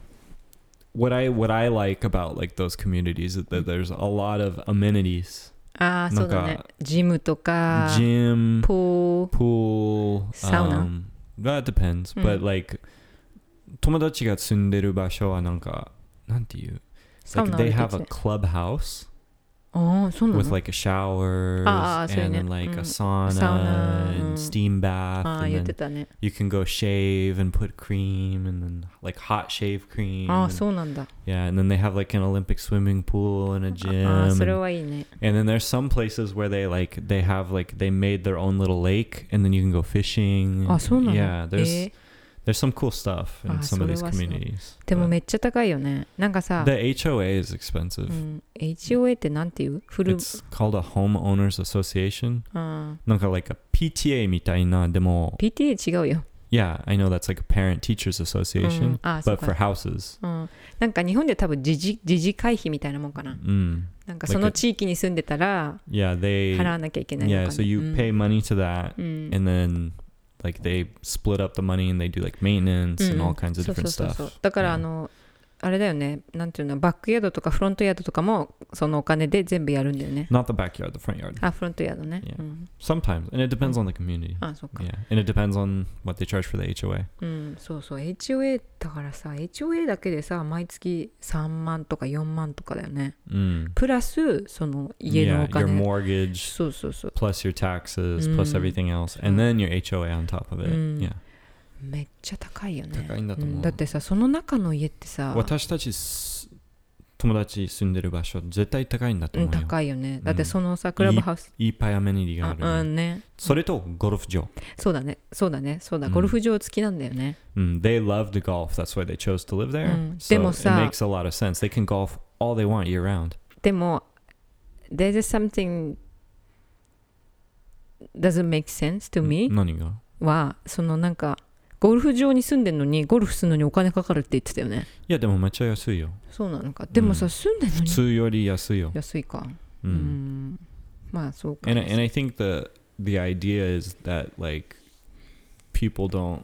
what I like about like those communities is that there's a lot of amenities. ああそうだねなんかジムとか Gym, ポー pool, サウナ that depends. うん But like 友達が住んでる場所はなんかなんていうサウ like ナある they って have 言 a ってた clubhouse ああそうな with の like a shower ああそういう and ね then like うん a sauna サウナ and うん steam bath ああ and 言って then たね you can go shave and put cream and then like hot shave cream ああ and- そうなんだ yeah and then they have like an Olympic swimming pool and a ああ gym それ and, はいいね and then there's some places where they have like they made their own little lake and then you can go fishing あそうなの yeah there's え there's some cool stuff in あ some of それ these はそう communities でも but めっちゃ高いよねなんかさ the HOA is expensive うん、HOA ってなんていうフル it's called a homeowners association あなんか like a PTA みたいなでも PTA 違うよ、 yeah I know that's like a parent teachers う association ん、あそう but for か、 houses うん、なんか日本で多分自治会費みたいなもんかな、なんかその地域に住んでたら yeah they 払わなきゃいけないのか、ね、 yeah so you pay money to that うん、 and then like they split up the money and they do like maintenance and all kinds of そう different そう stuff そうだから Yeah. あれだよねなんていうのバックヤードとかフロントヤードとかもそのお金で全部やるんだよね not the backyard the front yard あフロントヤードね、 Yeah. うん、 sometimes and it depends on the community あそっか、 yeah and it depends on what they charge for the HOA うんそうそう HOA だからさ HOA だけでさ毎月3万とか4万とかだよねプラスその家の yeah お your 金 mortgage そうそうそう plus your taxes plus everything else and then your HOA on top of it yeah めっちゃ高いよね高いんだと思うだってさその中の家ってさ私たち友達住んでる場所絶対高いんだと思うよ高いよねだってそのさクラブハウスいっぱいアメニティがあるうんねそれとゴルフ場そうだねそうだねそうだゴルフ場付きなんだよね they love the golf that's why they chose to live there で so も it さ makes a lot of sense they can golf all they want year round でも there's something doesn't make sense to me 何がはそのなんかゴルフ場に住んでるのにゴルフするのにお金かかるって言ってたよねいやでもめっちゃ安いよそうなのかでもさ、住んでるの普に通より安いよ安いかまあそうか and I think the idea is that like people don't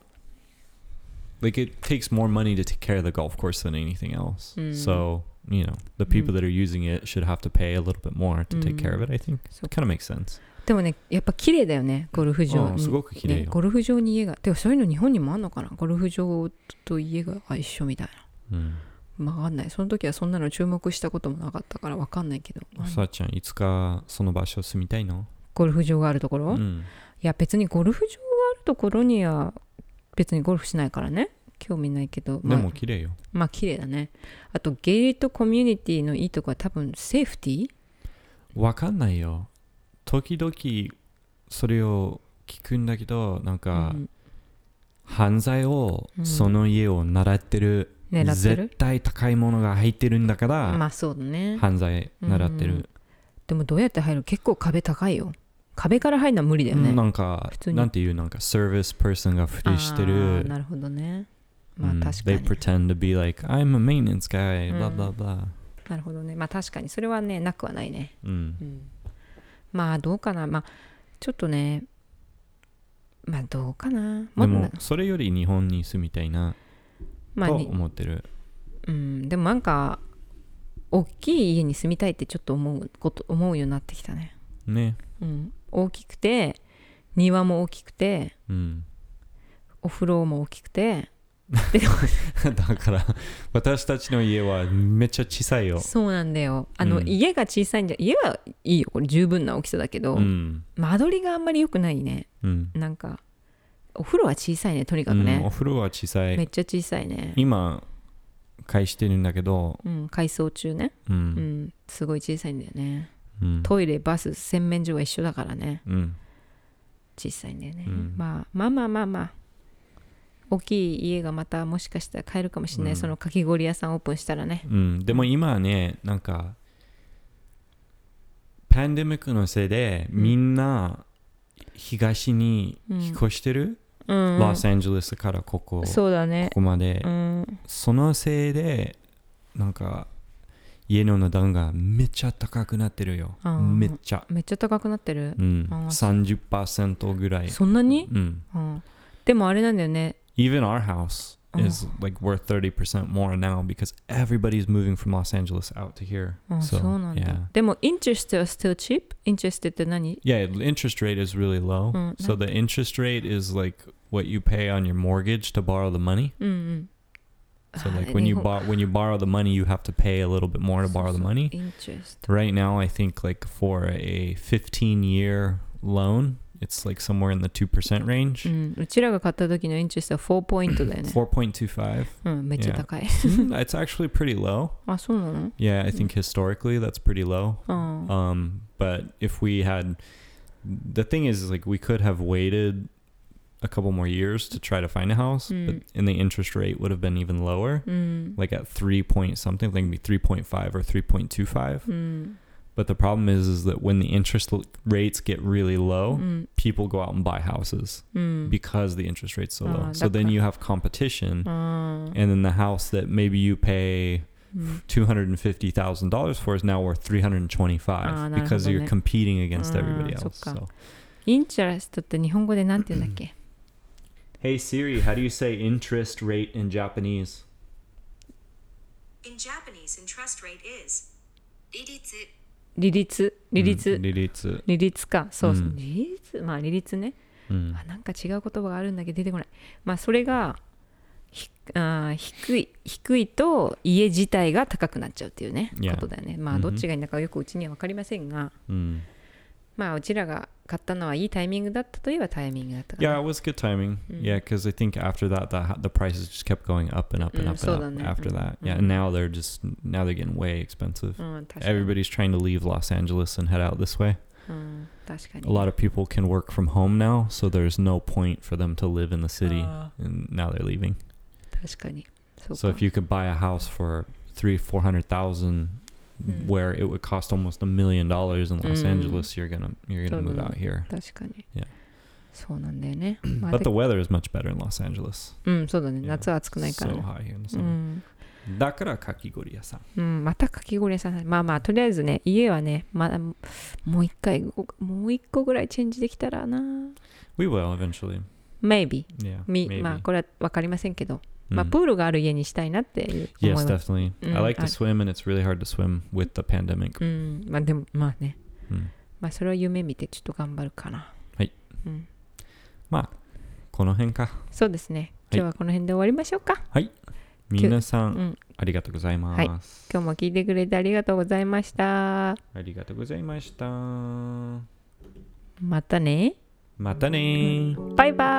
like it takes more money to take care of the golf course than anything else so you know the people that are using it should have to pay a little bit more to take care of it I think it kind of makes sense でもねやっぱ綺麗だよねゴルフ場にすごく綺麗よ、 ね、ゴルフ場に家がでもそういうの日本にもあんのかなゴルフ場と家が一緒みたいな、分かんないその時はそんなの注目したこともなかったから分かんないけどさあちゃんいつかその場所住みたいのゴルフ場があるところ、いや別にゴルフ場があるところには別にゴルフしないからね興味ないけど、 でも綺麗よまあ綺麗だねあとゲイリットコミュニティのいいとこは多分セーフティーわかんないよ時々それを聞くんだけどなんか、犯罪をその家を狙ってる、絶対高いものが入ってるんだからまあそうだね犯罪狙ってる、 でもどうやって入る結構壁高いよ壁から入るのは無理だよねなんかなんていうなんかサービスパーソンがふりしてるなるほどねまあ確かに、 they pretend to be like I'm a maintenance guy blah blah blah なるほどねまあ確かにそれはねなくはないねまあどうかなまあちょっとねまあどうかなでもそれより日本に住みたいなと思ってる、 でもなんか大きい家に住みたいってちょっと思うようになってきたね大きくて庭も大きくて、お風呂も大きくてだから私たちの家はめっちゃ小さいよそうなんだよ家が小さいんじゃ家はいいよこれ十分な大きさだけど、間取りがあんまり良くないね、なんかお風呂は小さいねとにかくね、 お風呂は小さいめっちゃ小さいね今返してるんだけど、 改装中ね、すごい小さいんだよね、トイレバス洗面所は一緒だからね、小さいんだよね、まあ大きい家がまたもしかしたら買えるかもしれない、そのかき氷屋さんオープンしたらね、 でも今はねなんかパンデミックのせいでみんな東に引っ越してる、ロサンゼルスからここそうだねここまで、そのせいでなんか家の値段がめっちゃ高くなってるよ、めっちゃ高くなってる、 30% ぐらいそんなに、でもあれなんだよね Even our house is like worth 30% more now because everybody's moving from Los Angeles out to here. そうなんだ。 yeah. でも interest は still cheap? interest って何？ Yeah, the interest rate is really low. So the interest rate is like what you pay on your mortgage to borrow the money. So like when you borrow the money, you have to pay a little bit more to borrow the money. Interest. Right now, I think like for a 15-year loan, it's like somewhere in the 2% range. うちらが買った時のインチェストは4ポイントだよね。 4.25. めっちゃ高い。 It's actually pretty low. あ、そうなの？ Yeah, I think historically that's pretty low. But if we had, the thing is like we could have waited a couple more years to try to find a house, but and the interest rate would have been even lower, like at 3 point something, like maybe 3.5 or 3.25. But the problem is that when the interest rates get really low, people go out and buy houses because the interest rate's so low. So then you have competition, and then the house that maybe you pay $250,000 for is now worth $325 because you're competing against everybody else. So. インチャレストって日本語でなんて言うんだっけ？ Hey Siri, how do you say interest rate in Japanese? In Japanese, interest rate is 利率か。そう、利率、まあ利率ね。なんか違う言葉があるんだけど出てこない。まあそれが低いと家自体が高くなっちゃうっていうね、ことだよね。まあどっちがいいんだかよくうちには分かりませんが、まあうちらが買ったのはいいタイミングだったといえばタイミングだったかな。 Yeah, it was good timing. Yeah, because I think after that, the prices just kept going up and up and up and up after that. Yeah, and now they're getting way expensive. Everybody's trying to leave Los Angeles and head out this way. 確かに。 A lot of people can work from home now, so there's no point for them to live in the city, and now they're leaving. 確かに。 So if you could buy a house for $300,000-400,000, where it would cost almost $1 million in Los Angeles, you're gonna move out here. 確かに。 Yeah. そうなんだよね。 But the weather is much better in Los Angeles. そうだね。夏は暑くないから。 So high here in the summer. だからかき氷屋さん。またかき氷屋さん。まあまあとりあえずね、家はね、まだもう一個ぐらいチェンジできたらな。 We will eventually. Maybe. Yeah. まあこれは分かりませんけど。まあプールがある家にしたいなって思います。 Yes, definitely. I like to swim, and it's really hard to swim with the pandemic. まあでもまあね。まあそれは夢見てちょっと頑張るかな。 はい。まあこの辺か。 そうですね。今日はこの辺で終わりましょうか。 はい。皆さんありがとうございます。 今日も聞いてくれてありがとうございました。 ありがとうございました。 またね。 またね。 バイバイ。